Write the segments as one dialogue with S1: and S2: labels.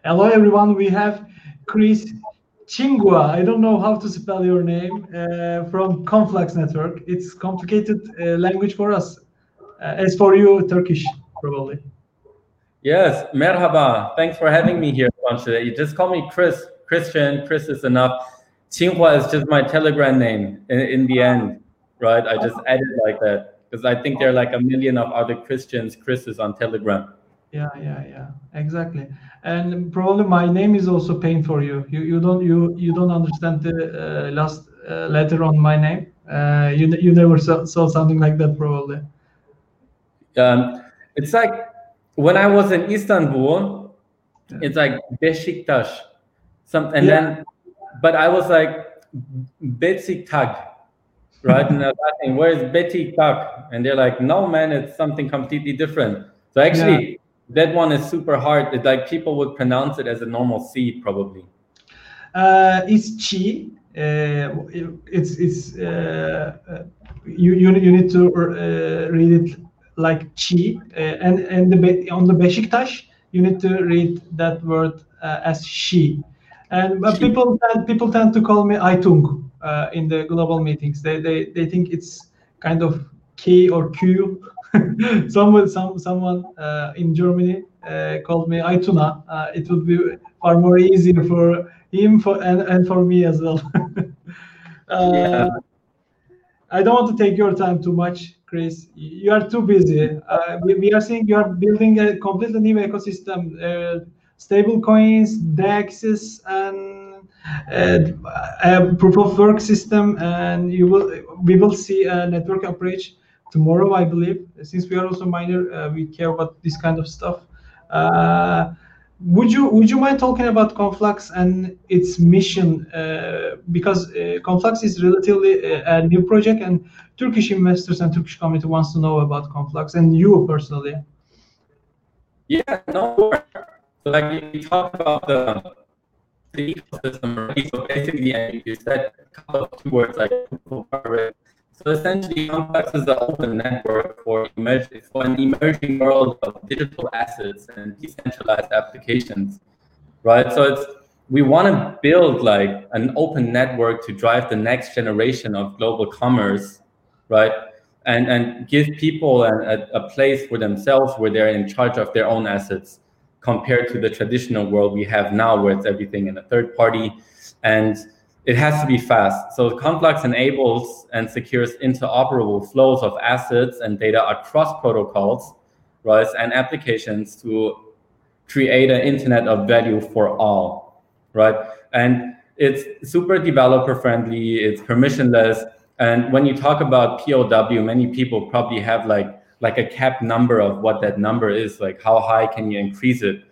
S1: Hello, everyone. We have Chris Chingua. I don't know how to spell your name from Conflux Network. It's complicated language for us. As for you, Turkish, probably.
S2: Yes, merhaba. Thanks for having me here, Pancho. You just call me Chris. Christian. Chris is enough. Tsinghua is just my Telegram name in the end, right? I just added like that because I think there are like a million of other Chris's on Telegram.
S1: Yeah, exactly. And probably my name is also pain for you. You don't understand the last letter on my name. You never saw something like that, probably.
S2: It's like when I was in Istanbul, it's like Beşiktaş, then, but I was like Beşiktaş, right? And I was asking, where's Beşiktaş? And they're like, no, man, it's something completely different. So actually, that one is super hard. It's like people would pronounce it as a normal C, probably.
S1: It's Chi. It's you need to read it like Chi, and on the Beşiktaş you need to read that word as she. And people tend to call me Aytung in the global meetings. They think it's kind of K or Q. someone in Germany called me Aytuna. It would be far more easier for him and for me as well. I don't want to take your time too much, Chris. You are too busy. We are seeing you are building a completely new ecosystem, stable coins, DEXs, and a proof of work system, and we will see a network approach tomorrow, I believe. Since we are also miner, we care about this kind of stuff. Would you mind talking about Conflux and its mission? Because Conflux is relatively a new project, and Turkish investors and Turkish community wants to know about Conflux and you personally.
S2: Yeah, no. So like you talked about the ecosystem already. So basically, you said a couple of keywords like so essentially, Conflux is an open network for an emerging world of digital assets and decentralized applications, right? So we want to build like an open network to drive the next generation of global commerce, right? And give people a place for themselves where they're in charge of their own assets, compared to the traditional world we have now, where it's everything in a third party. And it has to be fast. So Conflux enables and secures interoperable flows of assets and data across protocols, right, and applications to create an internet of value for all, right? And it's super developer friendly, it's permissionless. And when you talk about POW, many people probably have like a cap number of what that number is, like how high can you increase it?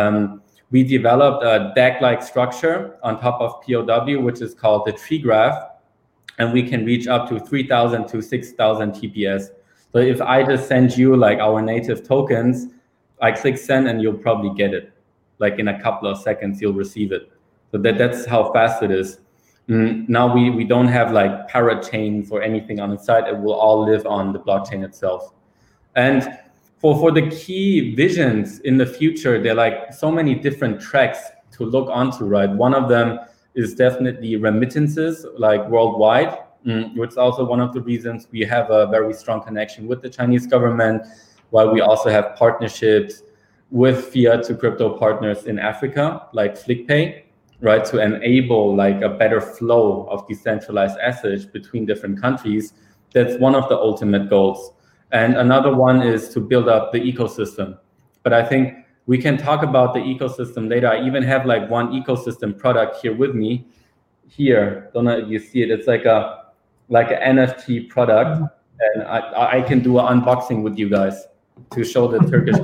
S2: We developed a DAG-like structure on top of POW, which is called the tree graph, and we can reach up to 3,000 to 6,000 TPS. So if I just send you like our native tokens, I click send and you'll probably get it. Like in a couple of seconds, you'll receive it. So that's how fast it is. Now we don't have like parachains or anything on the side. It will all live on the blockchain itself. And for the key visions in the future, there are like so many different tracks to look onto, right? One of them is definitely remittances, like worldwide, which is also one of the reasons we have a very strong connection with the Chinese government, while we also have partnerships with fiat to crypto partners in Africa, like FlickPay, right? To enable like a better flow of decentralized assets between different countries. That's one of the ultimate goals. And another one is to build up the ecosystem. But I think we can talk about the ecosystem later. I even have like one ecosystem product here with me. Here, don't know if you see it. It's like an NFT product, and I can do an unboxing with you guys to show the Turkish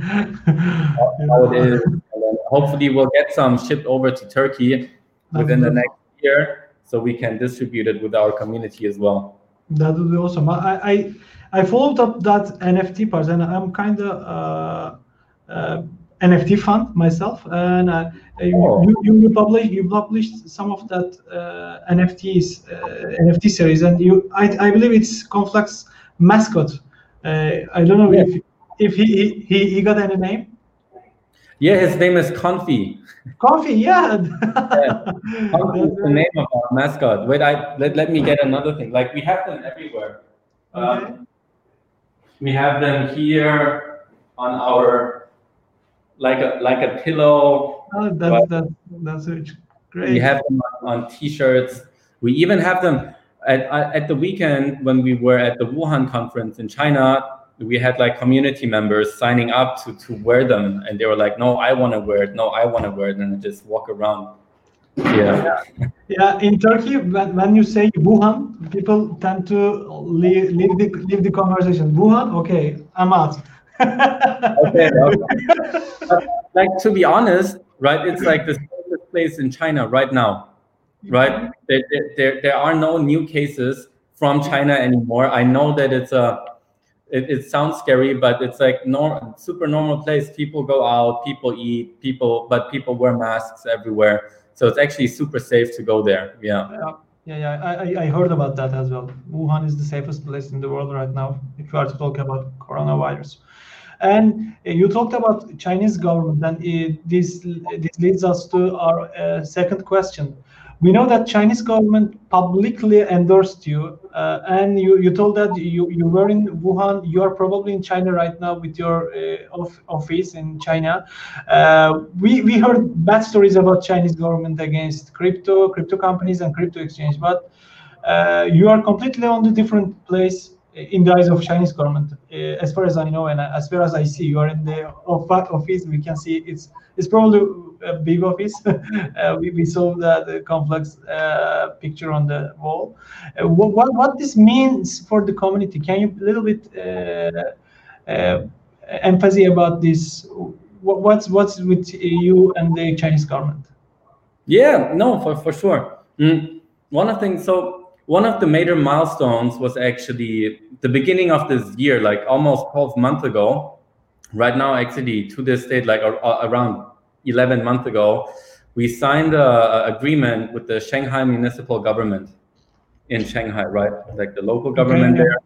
S2: how it is. And then hopefully we'll get some shipped over to Turkey within the next year, so we can distribute it with our community as well.
S1: That would be awesome. I followed up that NFT part, and I'm kind of NFT fan myself. And you published some of that NFT series, and I believe it's Conflux mascot. I don't know if he got any name.
S2: Yeah, his name is Confi.
S1: Confi, yeah.
S2: Confi is the name of our mascot. Wait, let me get another thing. Like we have them everywhere.
S1: Okay.
S2: We have them here on our like a pillow.
S1: Oh, that's great.
S2: We have them on T-shirts. We even have them at the weekend when we were at the Wuhan conference in China. We had like community members signing up to wear them, and they were like, "No, I want to wear it. No, I want to wear it," and just walk around. Yeah.
S1: Yeah, in Turkey, when you say Wuhan, people tend to leave the conversation. Wuhan, okay, I'm out.
S2: Okay. But, like, to be honest, right? It's like the safest place in China right now, right? There are no new cases from China anymore. I know that it sounds scary, but it's like super normal place. People go out, people eat, but people wear masks everywhere. So it's actually super safe to go there. Yeah.
S1: I heard about that as well. Wuhan is the safest place in the world right now, if you are to talk about coronavirus. And you talked about Chinese government, and this leads us to our second question. We know that Chinese government publicly endorsed you, and you told that you were in Wuhan. You are probably in China right now with your office in China. We heard bad stories about Chinese government against crypto companies and crypto exchange, but you are completely on the different place in the eyes of Chinese government, as far as I know, and as far as I see. You are in the office. We can see it's probably a big office. We saw the complex picture on the wall. What this means for the community? Can you a little bit emphasis about this? What's with you and the Chinese government?
S2: Yeah, no, for sure. One of the major milestones was actually the beginning of this year, like almost 12 months ago. Right now, actually, to this date, like around 11 months ago, we signed an agreement with the Shanghai municipal government in Shanghai, right? Like the local government there,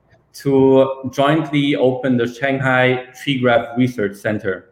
S2: to jointly open the Shanghai Tree Graph Research Center.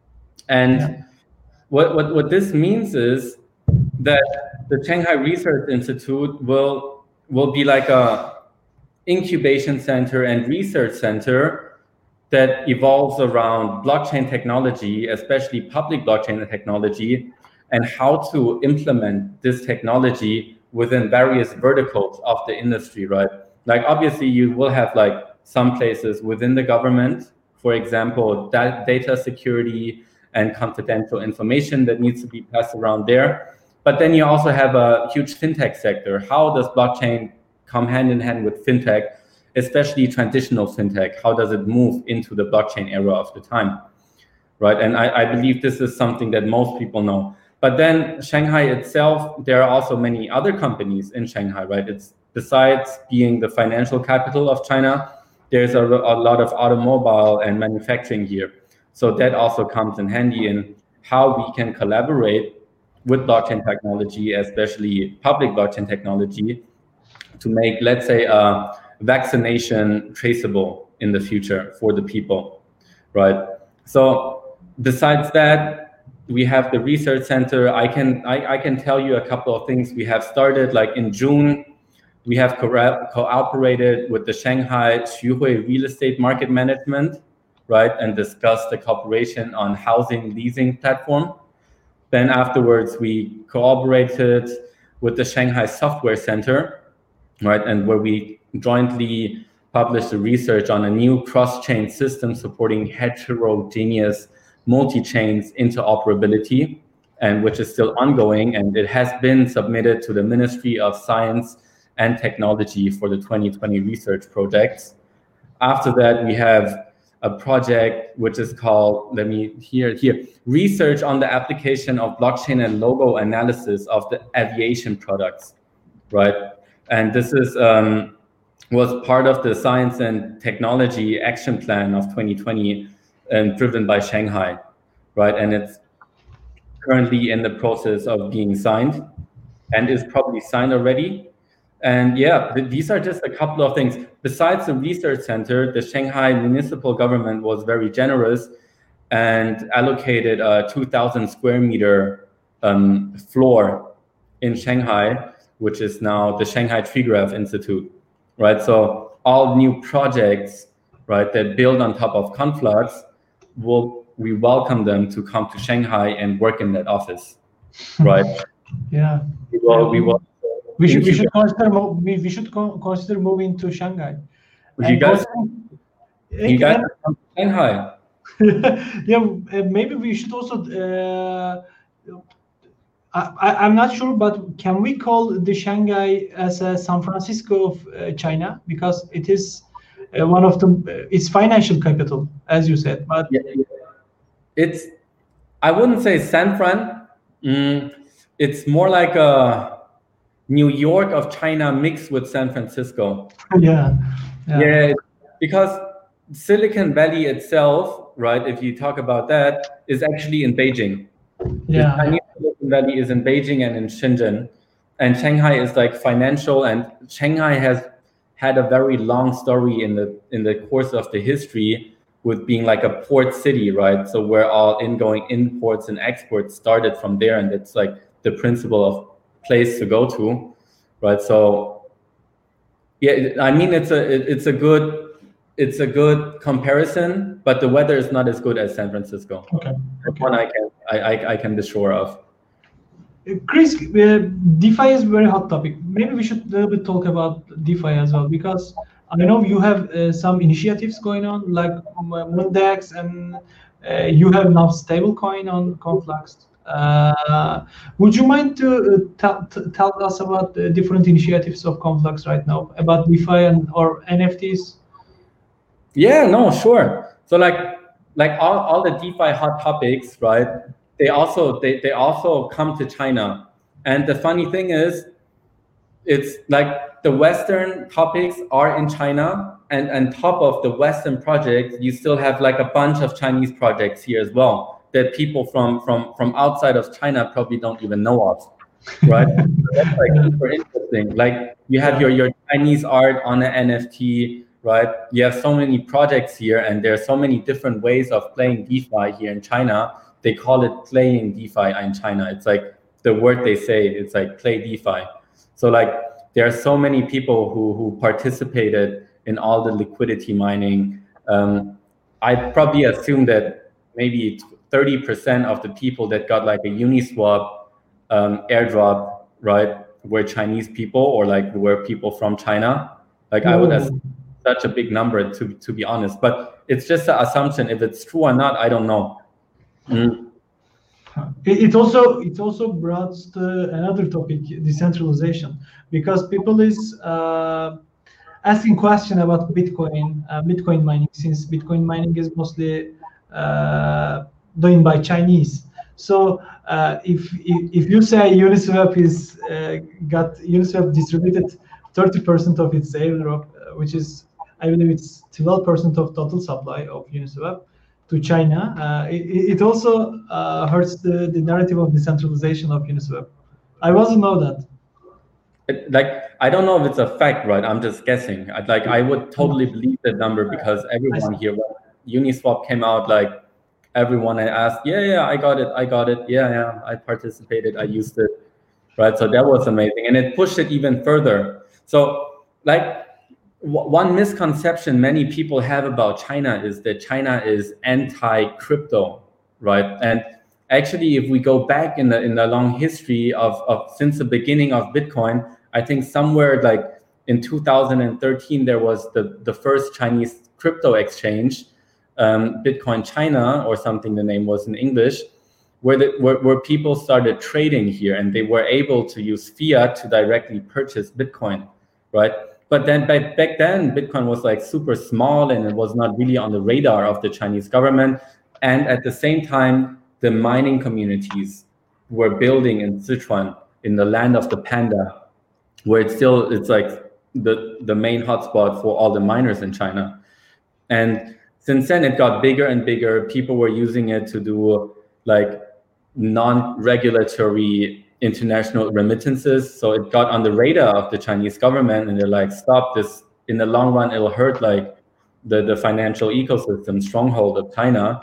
S2: And what this means is that the Shanghai Research Institute will be like a incubation center and research center that evolves around blockchain technology, especially public blockchain technology, and how to implement this technology within various verticals of the industry, right? Like obviously you will have like some places within the government, for example, data security and confidential information that needs to be passed around there. But then you also have a huge fintech sector. How does blockchain come hand in hand with fintech, especially traditional fintech? How does it move into the blockchain era of the time, right? And I believe this is something that most people know. But then Shanghai itself, there are also many other companies in Shanghai, right? It's besides being the financial capital of China, there's a lot of automobile and manufacturing here. So that also comes in handy in how we can collaborate with blockchain technology, especially public blockchain technology, to make, let's say, vaccination traceable in the future for the people, right? So besides that, we have the research center. I can tell you a couple of things we have started. Like in June, we have cooperated with the Shanghai Xuhui Real Estate Market Management, right, and discussed the cooperation on housing leasing platform. Then afterwards, we cooperated with the Shanghai Software Center, right, and where we jointly published the research on a new cross-chain system supporting heterogeneous multi-chains interoperability, and which is still ongoing, and it has been submitted to the Ministry of Science and Technology for the 2020 research projects. After that, we have a project which is called, research on the application of blockchain and logo analysis of the aviation products, right? And this is was part of the Science and Technology Action Plan of 2020 and driven by Shanghai, right? And it's currently in the process of being signed and is probably signed already. And yeah, these are just a couple of things. Besides the research center, the Shanghai municipal government was very generous and allocated a 2,000 square meter floor in Shanghai, which is now the Shanghai Tree Graph Institute, right? So all new projects, right, that build on top of Conflux, we welcome them to come to Shanghai and work in that office, right?
S1: Yeah.
S2: We
S1: should consider moving to Shanghai.
S2: You guys come to Shanghai.
S1: Yeah, maybe we should also. I'm not sure, but can we call the Shanghai as a San Francisco of China, because it is one of the its financial capital, as you said. But
S2: it's, I wouldn't say San Fran. It's more like a New York of China mixed with San Francisco.
S1: Yeah,
S2: because Silicon Valley itself, right, if you talk about that, is actually in Beijing.
S1: Yeah.
S2: The Chinese Silicon Valley is in Beijing and in Shenzhen, and Shanghai is like financial, and Shanghai has had a very long story in the course of the history with being like a port city, right? So where all ingoing imports and exports started from there, and it's like the principle of place to go to, right? So yeah, I mean, it's a good comparison, but the weather is not as good as San Francisco.
S1: Okay.
S2: One I can be sure of.
S1: Chris, DeFi is a very hot topic. Maybe we should a little bit talk about DeFi as well, because I know you have some initiatives going on, like Moondex, and you have now stablecoin on Conflux. Would you mind to tell us about the different initiatives of Conflux right now, about DeFi or NFTs?
S2: Yeah, no, sure. So like all the DeFi hot topics, right? They also come to China. And the funny thing is, it's like the Western topics are in China, and on top of the Western projects, you still have like a bunch of Chinese projects here as well that people from outside of China probably don't even know of, right? So that's like super interesting. Like you have your Chinese art on an NFT, right? You have so many projects here, and there are so many different ways of playing DeFi here in China. They call it playing DeFi in China. It's like the word they say, it's like play DeFi. So like there are so many people who participated in all the liquidity mining. I probably assume that maybe 30% of the people that got like a Uniswap airdrop, right, were Chinese people, or like were people from China. Like I would assume such a big number, to be honest, but it's just an assumption. If it's true or not, I don't know.
S1: It also brought another topic, decentralization, because people is asking question about Bitcoin mining, since Bitcoin mining is mostly done by Chinese. So if you say Uniswap Uniswap distributed 30% of its airdrop, which is, I believe it's 12% of total supply of Uniswap to China, it also hurts the narrative of decentralization of Uniswap. I wasn't know that.
S2: Like, I don't know if it's a fact, right? I'm just guessing. I would totally believe that number, because everyone here, when Uniswap came out, like everyone I asked, yeah, I got it. Yeah, I participated, I used it, right? So that was amazing, and it pushed it even further. So like one misconception many people have about China is that China is anti-crypto, right? And actually, if we go back in the long history of since the beginning of Bitcoin, I think somewhere like in 2013 there was the first Chinese crypto exchange, Bitcoin China or something the name was in English, where people started trading here, and they were able to use fiat to directly purchase Bitcoin, right? But then back then, Bitcoin was like super small, and it was not really on the radar of the Chinese government. And at the same time, the mining communities were building in Sichuan, in the land of the panda, where it's like the main hotspot for all the miners in China. And since then, it got bigger and bigger. People were using it to do like non-regulatory international remittances. So it got on the radar of the Chinese government, and they're like, stop this. In the long run, it'll hurt like the financial ecosystem stronghold of China.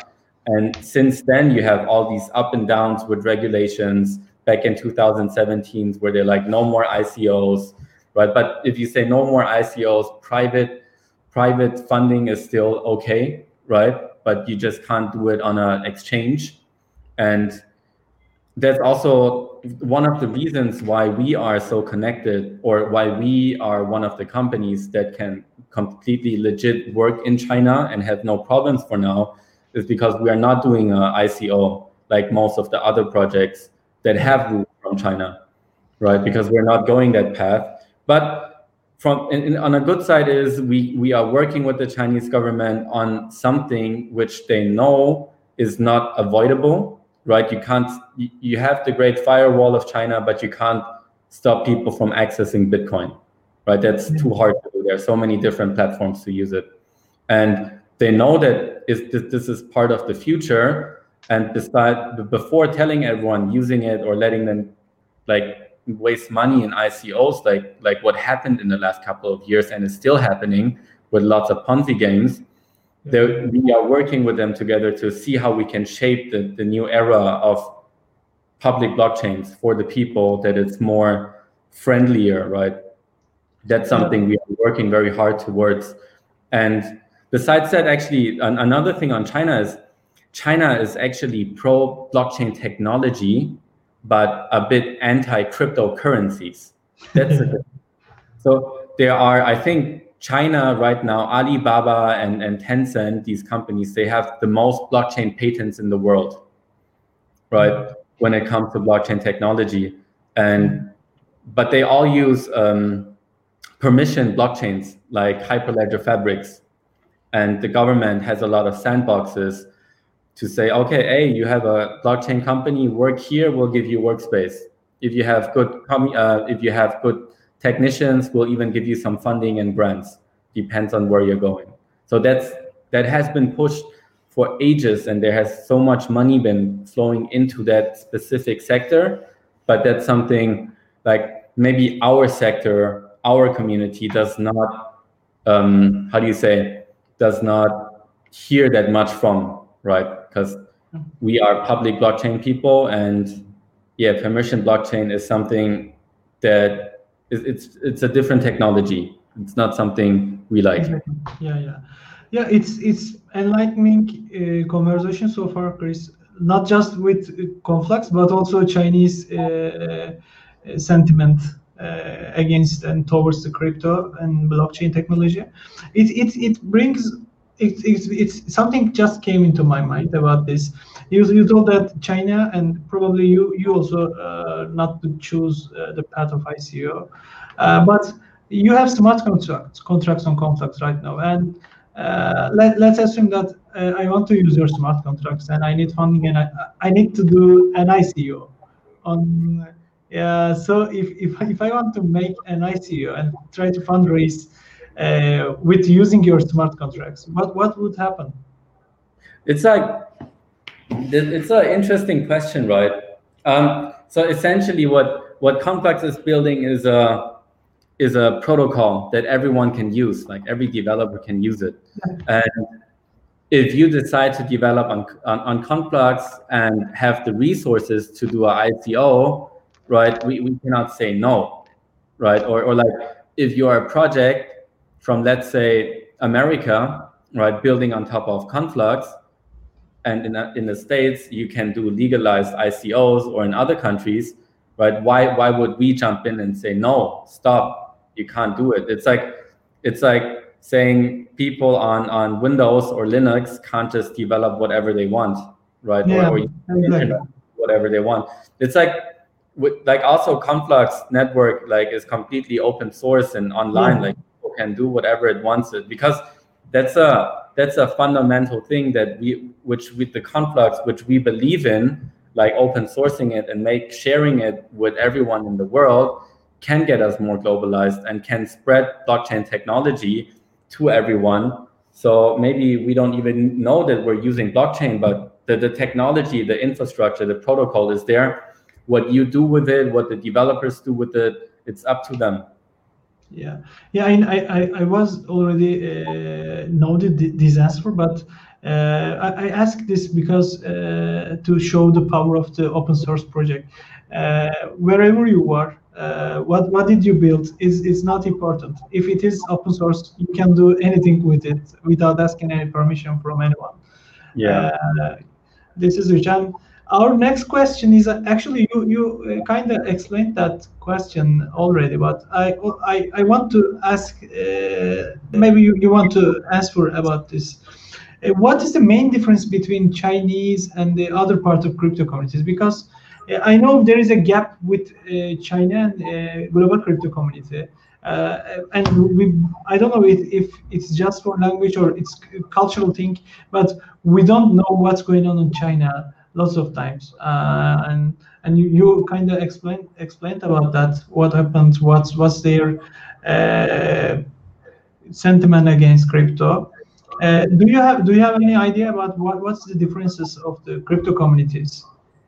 S2: And since then, you have all these up and downs with regulations. Back in 2017, where they're like, no more ICOs, right? But if you say no more ICOs, private funding is still okay, right? But you just can't do it on an exchange. And that's also one of the reasons why we are so connected, or why we are one of the companies that can completely legit work in China and have no problems for now, is because we are not doing an ICO like most of the other projects that have moved from China, right? Because we're not going that path. But on a good side is we are working with the Chinese government on something which they know is not avoidable, right? You have the great firewall of China, but you can't stop people from accessing Bitcoin, right? That's too hard to do. There are so many different platforms to use it. And they know that this is part of the future. And before telling everyone using it or letting them like waste money in ICOs, like what happened in the last couple of years and is still happening with lots of Ponzi games, we are working with them together to see how we can shape the new era of public blockchains for the people, that it's more friendlier, right? That's something we are working very hard towards. And besides that, actually, another thing on China is actually pro blockchain technology, but a bit anti cryptocurrencies. That's so there are, I think, China right now, Alibaba and Tencent, these companies, they have the most blockchain patents in the world, right? When it comes to blockchain technology, but they all use permissioned blockchains like Hyperledger Fabrics, and the government has a lot of sandboxes to say, okay, hey, you have a blockchain company, work here, we'll give you workspace. If you have good technicians, we'll even give you some funding and grants. Depends on where you're going. So that has been pushed for ages, and there has so much money been flowing into that specific sector. But that's something like maybe our sector, our community does not, does not hear that much from, right? Because we are public blockchain people, and permission blockchain is something that it's a different technology. It's not something we like.
S1: Yeah. It's enlightening conversation so far, Chris. Not just with Conflux, but also Chinese sentiment against and towards the crypto and blockchain technology. It brings. It's something just came into my mind about this. You told that China, and probably you also not to choose the path of ICO, but you have smart contracts on Conflux right now, and let's assume that I want to use your smart contracts and I need funding, and I need to do an ICO on. So if I want to make an ICO and try to fundraise with using your smart contracts, what would happen?
S2: It's an interesting question, right? So essentially, what Conflux is building is a protocol that everyone can use, like every developer can use it. And if you decide to develop on Conflux and have the resources to do an ICO, right? We cannot say no, right? Or like if you are a project from, let's say, America, right, building on top of Conflux, and in the States, you can do legalized ICOs, or in other countries, right? Why would we jump in and say, no, stop, you can't do it? It's like saying people on Windows or Linux can't just develop whatever they want, right? Or exactly. Whatever they want. It's like also Conflux network is completely open source and online, like people can do whatever it wants it, because that's a fundamental thing which with the Conflux, which we believe in, like open sourcing it and sharing it with everyone in the world, can get us more globalized and can spread blockchain technology to everyone. So maybe we don't even know that we're using blockchain, but the technology, the infrastructure, the protocol is there. What you do with it, what the developers do with it, it's up to them.
S1: I was already noted this answer, but I ask this because to show the power of the open source project. Wherever you are, what did you build is not important. If it is open source, you can do anything with it without asking any permission from anyone.
S2: Yeah.
S1: This is rich. And our next question is actually you kind of explained that question already, but I want to ask, maybe you want to answer about this. What is the main difference between Chinese and the other part of crypto communities? Because I know there is a gap with China and global crypto community. And I don't know if it's just for language or it's a cultural thing, but we don't know what's going on in China lots of times. And you kind of explained about that. What happens? What's their sentiment against crypto? Do you have any idea about what's the differences of the crypto communities?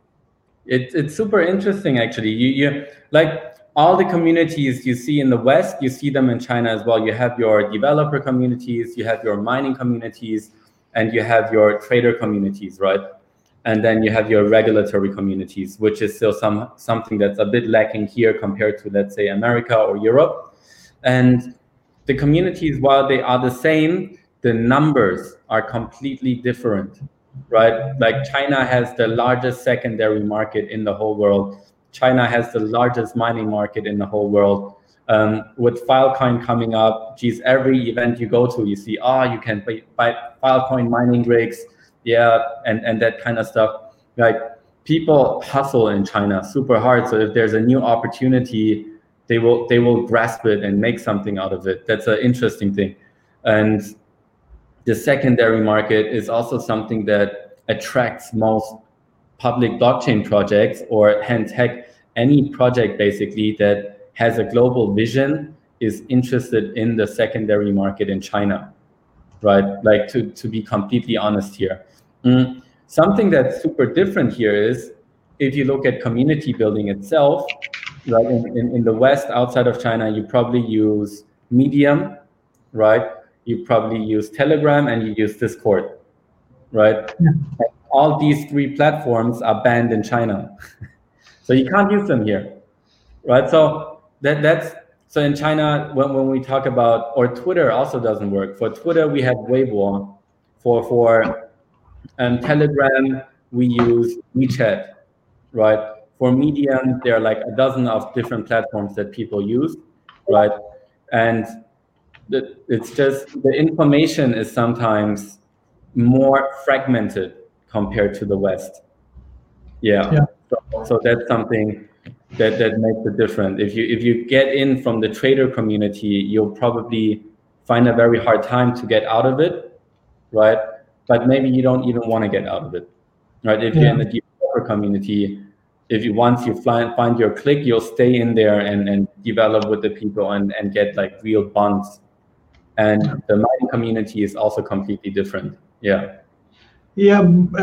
S2: It's super interesting actually. You like all the communities you see in the West, you see them in China as well. You have your developer communities, you have your mining communities, and you have your trader communities, right? And then you have your regulatory communities, which is still something that's a bit lacking here compared to, let's say, America or Europe. And the communities, while they are the same, the numbers are completely different, right? Like China has the largest secondary market in the whole world. China has the largest mining market in the whole world. With Filecoin coming up, geez, every event you go to, you see, you can buy Filecoin mining rigs, yeah, and that kind of stuff. Like people hustle in China super hard. So if there's a new opportunity, they will grasp it and make something out of it. That's an interesting thing. And the secondary market is also something that attracts most public blockchain projects, or hence heck, any project basically that has a global vision is interested in the secondary market in China, right? Like to be completely honest here. Something that's super different here is if you look at community building itself, right? In the West, outside of China, you probably use Medium, right? You probably use Telegram and you use Discord, right?
S1: Yeah.
S2: All these three platforms are banned in China. So you can't use them here, right? So so in China, when we talk about, or Twitter also doesn't work. For Twitter, we have Weibo. For Telegram, we use WeChat, right? For Medium, there are like a dozen of different platforms that people use, right? And it's just the information is sometimes more fragmented compared to the West. Yeah. So that's something that makes it different. If you get in from the trader community, you'll probably find a very hard time to get out of it, right? But maybe you don't even want to get out of it, right? If you're in the developer community, once you find your click, you'll stay in there and develop with the people and get like real bonds. And the mining community is also completely different. Yeah.
S1: Yeah,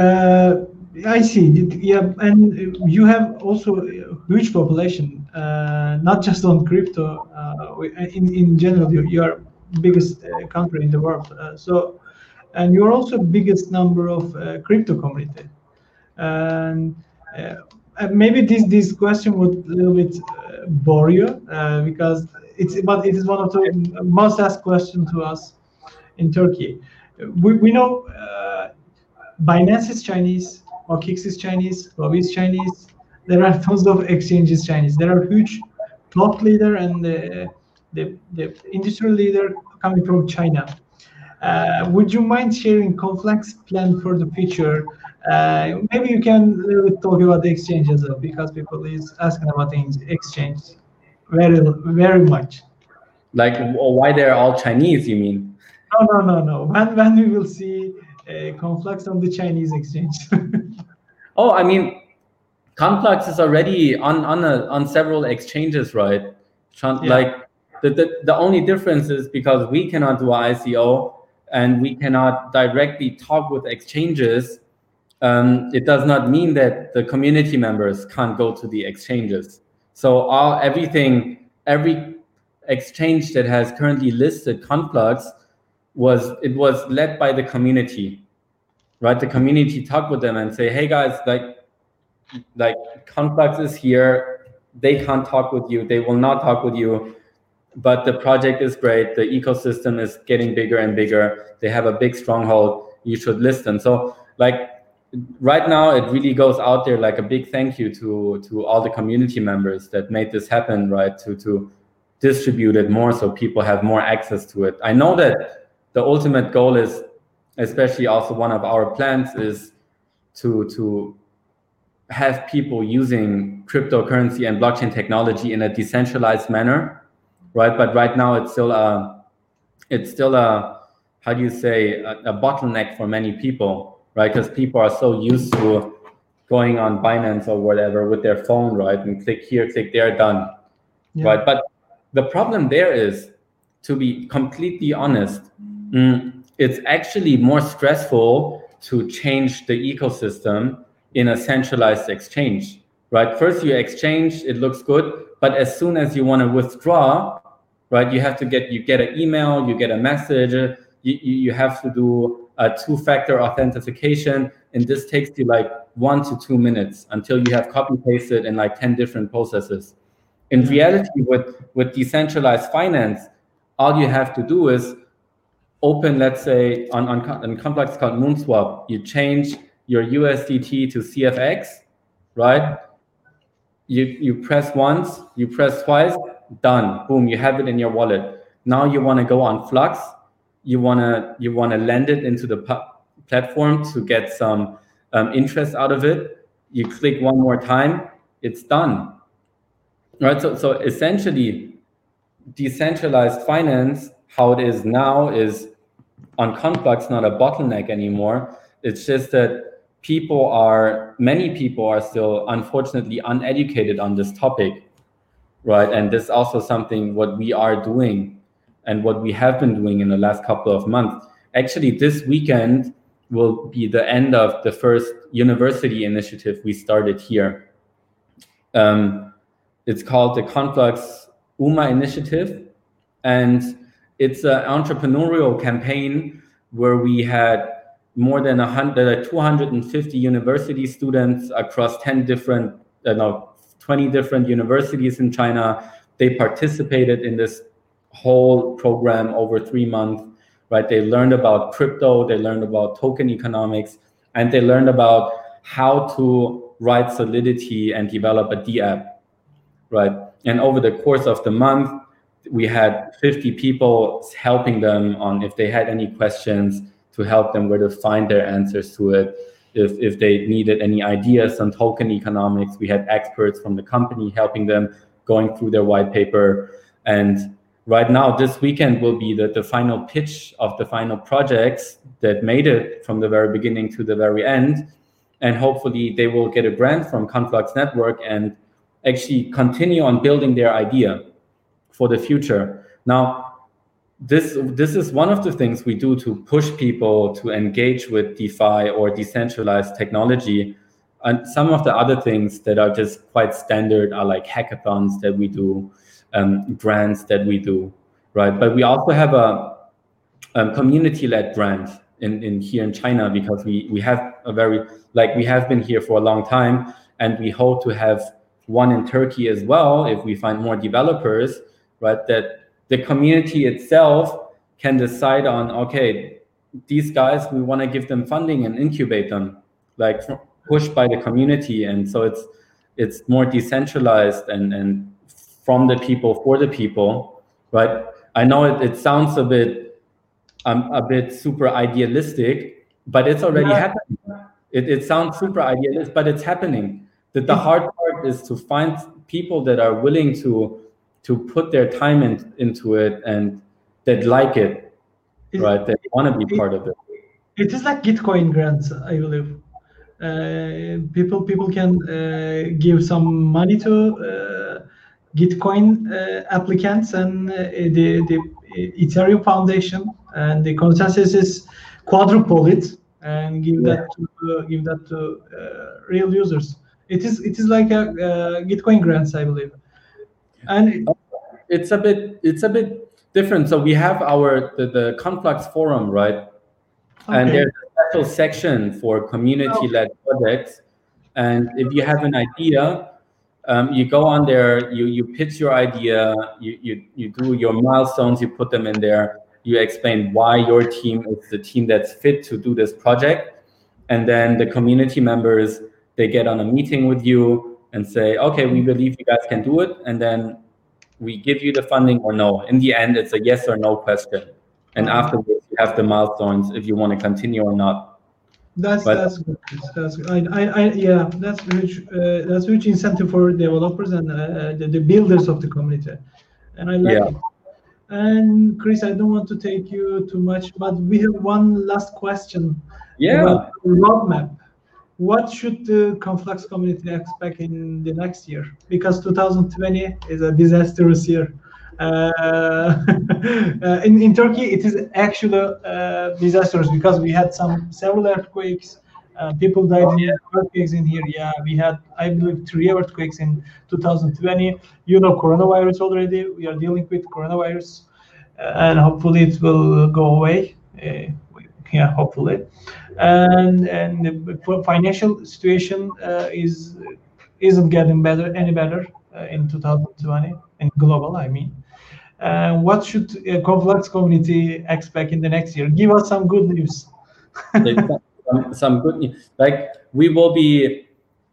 S1: I see. Yeah, and you have also a huge population, not just on crypto. In general, you are biggest country in the world. And you're also biggest number of crypto community. And maybe this question would a little bit bore you because it is one of the most asked questions to us in Turkey. We know Binance is Chinese, OKX is Chinese, Huobi is Chinese. There are tons of exchanges Chinese. There are huge top leader and the industrial leader coming from China. Would you mind sharing Conflux plan for the future? Maybe you can a little bit talk about the exchange as well, because people is asking about the exchange very, very much.
S2: Like why they're all Chinese, you mean?
S1: No. When we will see Conflux on the Chinese exchange?
S2: Oh, I mean, Conflux is already on several exchanges, right? Like the only difference is because we cannot do ICO and we cannot directly talk with exchanges. It does not mean that the community members can't go to the exchanges. So every exchange that has currently listed Conflux was led by the community, right? The community talk with them and say, hey guys, like Conflux is here. They can't talk with you. They will not talk with you. But the project is great. The ecosystem is getting bigger and bigger. They have a big stronghold. You should listen. So like right now, it really goes out there like a big thank you to all the community members that made this happen, right? To distribute it more so people have more access to it. I know that the ultimate goal is, especially also one of our plans, is to have people using cryptocurrency and blockchain technology in a decentralized manner, right? But right now it's still a how do you say, a bottleneck for many people, right? Because people are so used to going on Binance or whatever with their phone, right? And click here, click there, done, right? But the problem there is, to be completely honest, it's actually more stressful to change the ecosystem in a centralized exchange, right? First you exchange, it looks good, but as soon as you want to withdraw, right, you get an email, you get a message, you have to do a 2-factor authentication, and this takes you like 1 to 2 minutes until you have copy pasted in like 10 different processes. In reality, with decentralized finance, all you have to do is open, let's say on Conflux called Moonswap, you change your USDT to CFX, right? You press once, you press twice, done, boom, you have it in your wallet. Now you want to go on Flux, you want to lend it into the platform to get some interest out of it. You click one more time, it's done, right? So essentially, decentralized finance, how it is now, is on Conflux not a bottleneck anymore. It's just that many people are still unfortunately uneducated on this topic, right? And this is also something what we are doing and what we have been doing in the last couple of months. Actually, this weekend will be the end of the first university initiative we started here. It's called the Conflux UMA initiative, and it's an entrepreneurial campaign where we had more than 250 university students across 20 different universities in China. They participated in this whole program over 3 months, right? They learned about crypto, they learned about token economics, and they learned about how to write Solidity and develop a DApp, right? And over the course of the month, we had 50 people helping them on if they had any questions, to help them where to find their answers to it. If they needed any ideas on token economics, we had experts from the company helping them, going through their white paper. And right now, this weekend will be the final pitch of the final projects that made it from the very beginning to the very end. And hopefully they will get a grant from Conflux Network and actually continue on building their idea for the future. Now, this is one of the things we do to push people to engage with DeFi or decentralized technology. And some of the other things that are just quite standard are like hackathons that we do, grants that we do, right? But we also have a community-led grant in here in China, because we have we have been here for a long time, and we hope to have one in Turkey as well if we find more developers, right? That the community itself can decide on, okay, these guys, we want to give them funding and incubate them, like pushed by the community. And so it's more decentralized and from the people for the people, right? I know it sounds a bit super idealistic, but it's already happening. It sounds super idealist, but it's happening. The hard part is to find people that are willing to put their time into it and that like it, right? That want to be part of it.
S1: It is like Gitcoin grants, I believe. People can give some money to Gitcoin applicants and the Ethereum Foundation, and the consensus is quadruple it and give that to real users. It is like a Gitcoin grants, I believe. And
S2: it's a bit different. So we have the Conflux forum, right? Okay. And there's a special section for community-led projects. And if you have an idea, you go on there, you pitch your idea, you do your milestones, you put them in there, you explain why your team is the team that's fit to do this project. And then the community members, they get on a meeting with you and say, okay, we believe you guys can do it. And then we give you the funding or no. In the end, it's a yes or no question. And afterwards, you have the milestones if you want to continue or not.
S1: That's good. That's good. Yeah, that's huge incentive for developers and the builders of the community, and I like it. And Chris, I don't want to take you too much, but we have one last question. About the roadmap. What should the Conflux community expect in the next year? Because 2020 is a disastrous year. In Turkey, it is actually disastrous because we had several earthquakes. People died in earthquakes in here. Yeah, we had, I believe, 3 earthquakes in 2020. You know, coronavirus already. We are dealing with coronavirus, and hopefully it will go away. Yeah, hopefully. And the financial situation isn't getting any better in 2020 in global, I mean. What should Conflux community expect in the next year? Give us some good news.
S2: some good news. Like we will be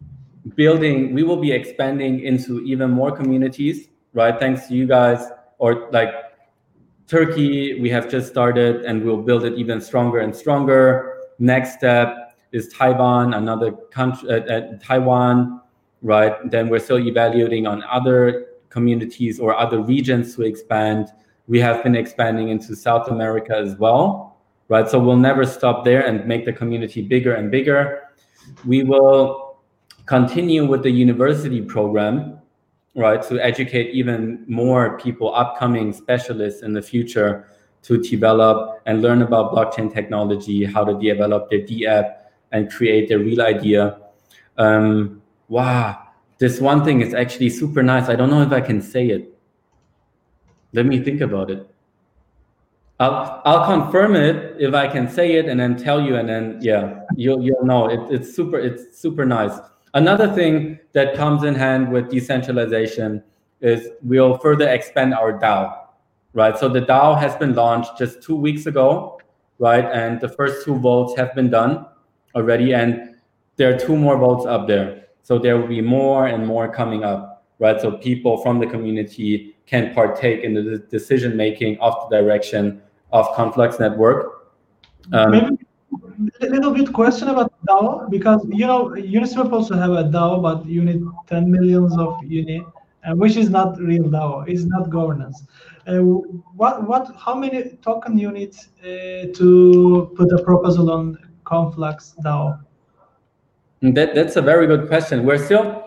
S2: expanding into even more communities, right? Thanks to you guys, or like Turkey, we have just started and we'll build it even stronger and stronger. Next step is Taiwan, another country, Taiwan, right? Then we're still evaluating on other communities or other regions to expand. We have been expanding into South America as well, right? So we'll never stop there and make the community bigger and bigger. We will continue with the university program, right, to educate even more people, upcoming specialists in the future, to develop and learn about blockchain technology, how to develop their DApp and create their real idea. Wow, this one thing is actually super nice. I don't know if I can say it. Let me think about it. I'll confirm it if I can say it and then tell you, and then yeah, you'll know. It's super nice. Another thing that comes in hand with decentralization is we'll further expand our DAO, right? So the DAO has been launched just 2 weeks ago, right? And the first 2 votes have been done already, and there are 2 more votes up there. So there will be more and more coming up, right? So people from the community can partake in the decision-making of the direction of Conflux Network.
S1: Maybe a little bit question about DAO, because you know Uniswap also have a DAO, but you need 10 millions of uni, which is not real DAO. It's not governance. How many token you need to put a proposal on Conflux DAO?
S2: That's a very good question. We're still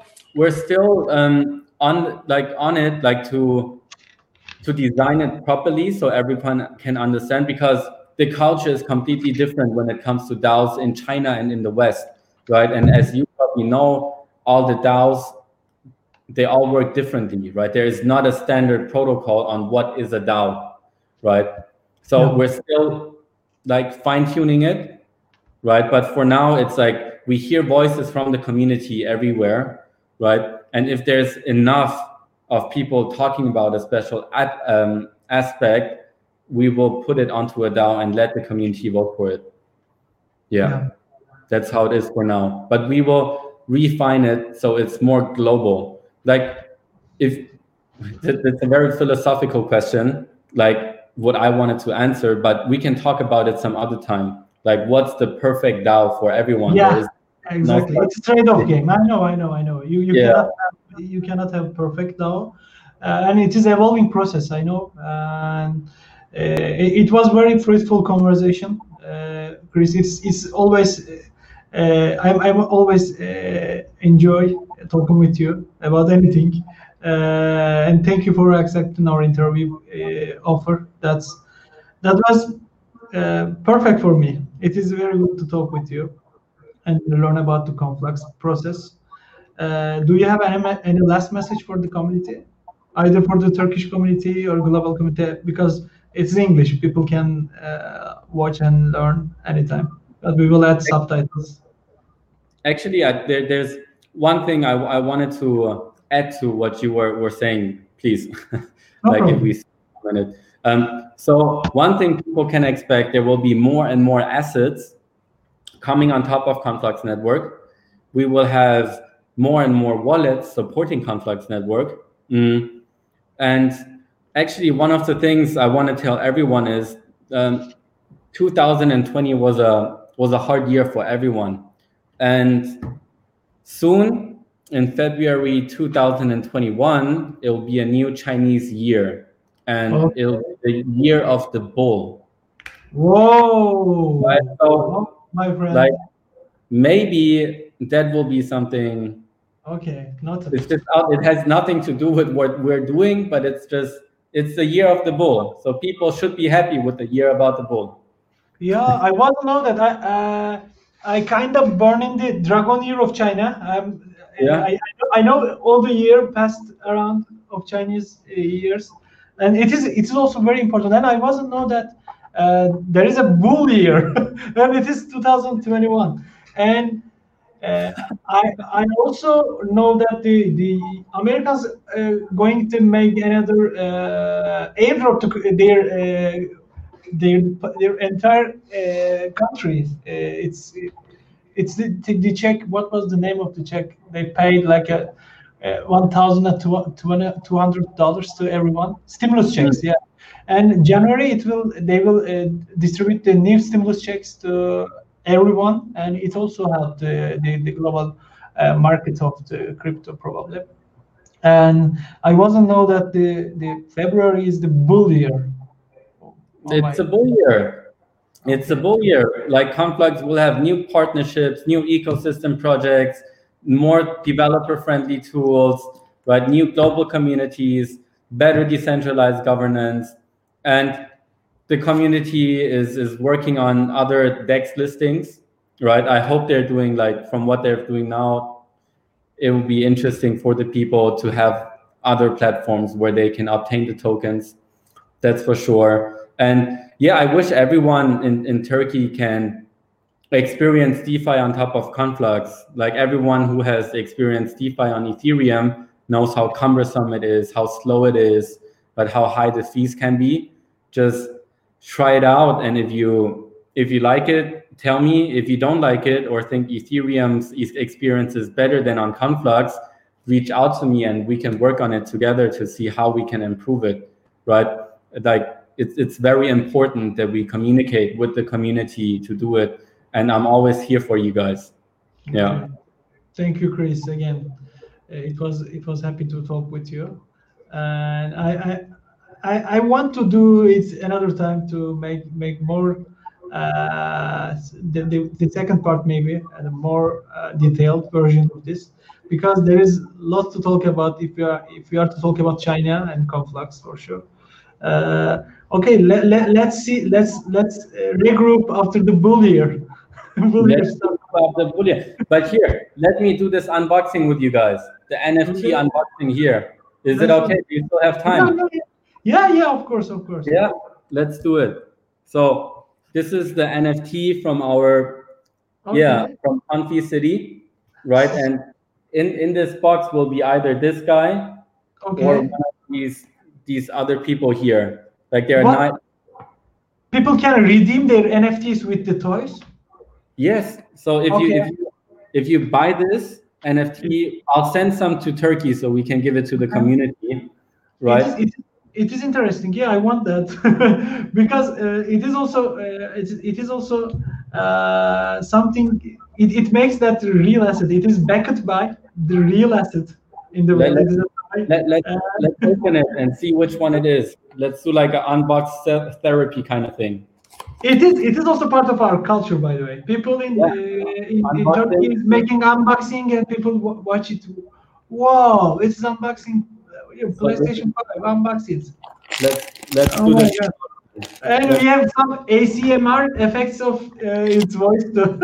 S2: on it to design it properly so everyone can understand, because the culture is completely different when it comes to DAOs in China and in the West, right? And as you probably know, all the DAOs, they all work differently, right? There is not a standard protocol on what is a DAO, right? So we're still like fine-tuning it, right? But for now, it's like we hear voices from the community everywhere, right? And if there's enough of people talking about a special aspect, we will put it onto a DAO and let the community vote for it. Yeah. That's how it is for now. But we will refine it so it's more global. Like, if it's a very philosophical question, like what I wanted to answer, but we can talk about it some other time. Like, what's the perfect DAO for everyone?
S1: Yeah, exactly. It's a trade-off game. I know. You cannot have perfect DAO, and it is evolving process. I know, and it was very fruitful conversation, Chris. It's always I'm always enjoy talking with you about anything, and thank you for accepting our interview offer. That was perfect for me. It is very good to talk with you and learn about the Conflux process. Do you have any last message for the community, either for the Turkish community or global community? Because it's English, people can watch and learn anytime. but we will add subtitles.
S2: Actually, there's one thing I wanted to add to what you were saying, please. Like if we a minute. So one thing people can expect, there will be more and more assets coming on top of Conflux Network. We will have more and more wallets supporting Conflux Network. And actually, one of the things I want to tell everyone is 2020 was a hard year for everyone. And soon, in February 2021, it will be a new Chinese year. And it'll be the year of the bull.
S1: Whoa!
S2: Right? So,
S1: my friend.
S2: Like, maybe that will be something.
S1: Okay, not.
S2: It's just it has nothing to do with what we're doing, but it's the year of the bull. So people should be happy with the year about the bull.
S1: Yeah, I want to know that I kind of born in the dragon year of China. I know all the year passed around of Chinese years, and it is also very important. And I wasn't know that there is a bull year, and it is 2021. And I also know that the Americans going to make another airdrop to their entire country. It's the check. What was the name of the check? They paid like a $1,200 to everyone. Stimulus checks, yeah. And January they will distribute the new stimulus checks to everyone, and it also helped the global market of the crypto probably. And I wasn't know that the February is the bull year.
S2: It's a bull year. It's a bull year. Like Conflux will have new partnerships, new ecosystem projects, more developer-friendly tools, right? New global communities, better decentralized governance, and the community is working on other DEX listings, right? I hope they're doing from what they're doing now, it will be interesting for the people to have other platforms where they can obtain the tokens. That's for sure. And yeah, I wish everyone in Turkey can experience DeFi on top of Conflux. Like everyone who has experienced DeFi on Ethereum knows how cumbersome it is, how slow it is, but how high the fees can be. Just try it out, and if you like it, tell me. If you don't like it or think Ethereum's experience is better than on Conflux, reach out to me and we can work on it together to see how we can improve it, right? Like it's very important that we communicate with the community to do it, and I'm always here for you guys. Yeah.
S1: Okay. Thank you, Chris. Again, it was happy to talk with you, and I want to do it another time to make more the second part maybe and a more detailed version of this, because there is lots to talk about if we are to talk about China and Conflux for sure. Okay, let's see. Let's regroup after the bull year.
S2: But here, let me do this unboxing with you guys. The NFT unboxing here. Is it okay? Do you still have time?
S1: Yeah, of course.
S2: Yeah, let's do it. So this is the NFT from our from Confi City, right? And in this box will be either this guy or one of these other people here. Like they're not.
S1: People can redeem their NFTs with the toys.
S2: Yes. So if you buy this NFT, I'll send some to Turkey so we can give it to the community, right?
S1: It is interesting. Yeah, I want that because it is also something. It makes that real asset. It is backed by the real asset in the world.
S2: Let's open it and see which one it is. Let's do like an unbox therapy kind of thing.
S1: It is also part of our culture, by the way. People in Turkey is making unboxing and people watch it. Wow, it's unboxing. PlayStation 5 unboxing.
S2: Let's do this.
S1: And we have some ASMR effects of its voice too.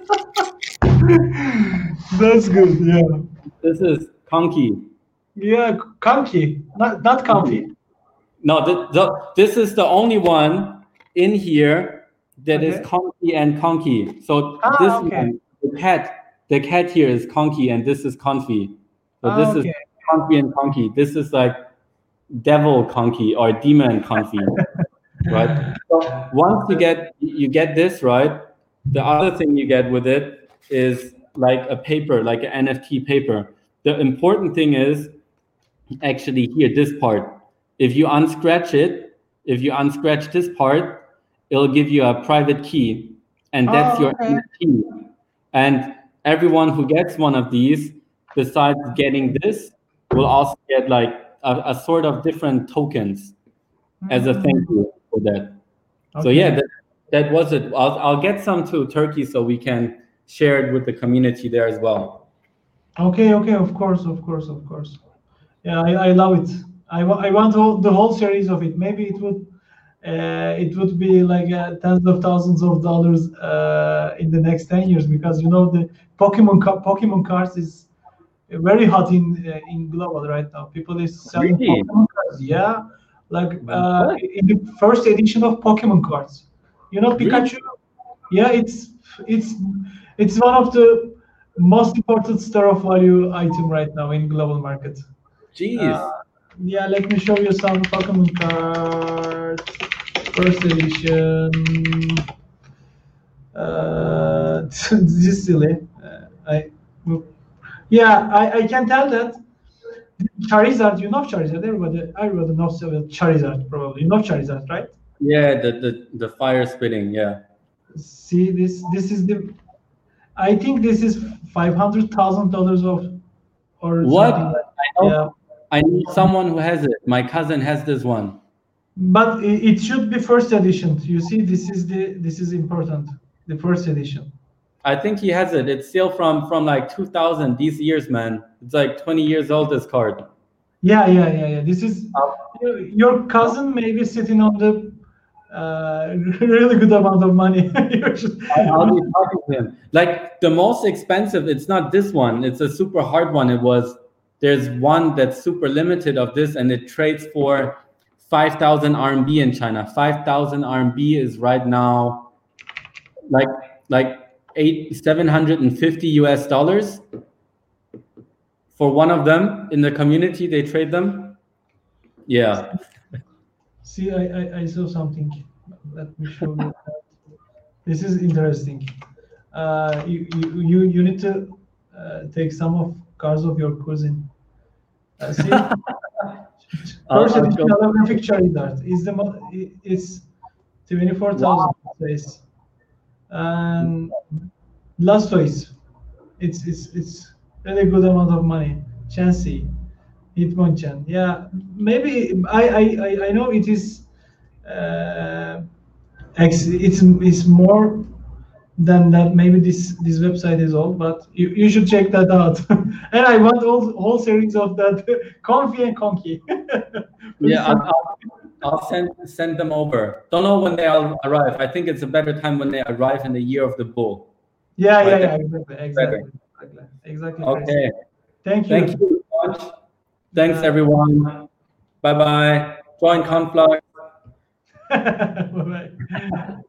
S1: That's good. Yeah.
S2: This is Conky.
S1: Yeah, Conky, not Comfy.
S2: No, this is the only one in here that is
S1: Okay.
S2: conky and conky. So this
S1: Okay.
S2: one, the cat here is conky, and this is confi. So this is
S1: Okay.
S2: conky and conky. This is like devil conky or demon confi, right? So once you get this right, the other thing you get with it is like a paper, like an NFT paper. The important thing is actually here, this part. If you unscratch it, if you unscratch this part, it'll give you a private key, and that's your
S1: Okay.
S2: NFT. And everyone who gets one of these, besides getting this, will also get like a sort of different tokens as a thank you for that. So
S1: Okay.
S2: yeah, that was it. I'll get some to Turkey so we can share it with the community there as well.
S1: Okay. Of course. Yeah, I love it. I want the whole series of it. Maybe it would be like tens of thousands of dollars in the next 10 years, because the Pokemon cards is very hot in global right now. People is selling
S2: Really?
S1: Pokemon cards. Yeah, like
S2: What?
S1: in the first edition of Pokemon cards.
S2: Really?
S1: Pikachu. Yeah, it's it's one of the most important store of value item right now in global market. Uh,
S2: Jeez.
S1: yeah, let me show you some Pokemon cards. First edition. This is silly. I can tell that Charizard. You know Charizard. Everybody knows Charizard. Probably you know Charizard, right?
S2: Yeah, the fire spitting. Yeah.
S1: See this is the. I think this is $500,000 of or
S2: What?
S1: something like.
S2: I
S1: Yeah,
S2: know. I know someone who has it. My cousin has this one.
S1: but it should be first edition. You see, this is important. The first edition.
S2: I think he has it. It's still from like 2000. These years, man. It's like 20 years old. This card.
S1: Yeah. This is your cousin maybe sitting on the really good amount of money. You should-
S2: I'll be talking to him. Like the most expensive, it's not this one. It's a super hard one. There's one that's super limited of this, and it trades for 5,000 RMB in China. 5,000 RMB is right now like 750 US dollars for one of them. In the community, they trade them. Yeah.
S1: See, I saw something. Let me show you. This is interesting. You need to take some of cars of your cousin. See, first
S2: I'll
S1: edition
S2: show-
S1: holographic Charizard is it's 24,000 space, and Blastoise. It's really good amount of money. Chansey, Hitmonchan. Yeah, maybe I know it is. It's more than that. Maybe this website is old, but you should check that out. And I want whole series of that Comfy and Conky.
S2: Yeah, I'll send them over. Don't know when they'll arrive. I think it's a better time when they arrive in the year of the bull.
S1: Yeah,
S2: Right,
S1: exactly.
S2: Okay.
S1: Thank you.
S2: Thank you so much. Thanks, everyone. Bye-bye. Join Conflux.
S1: Bye bye.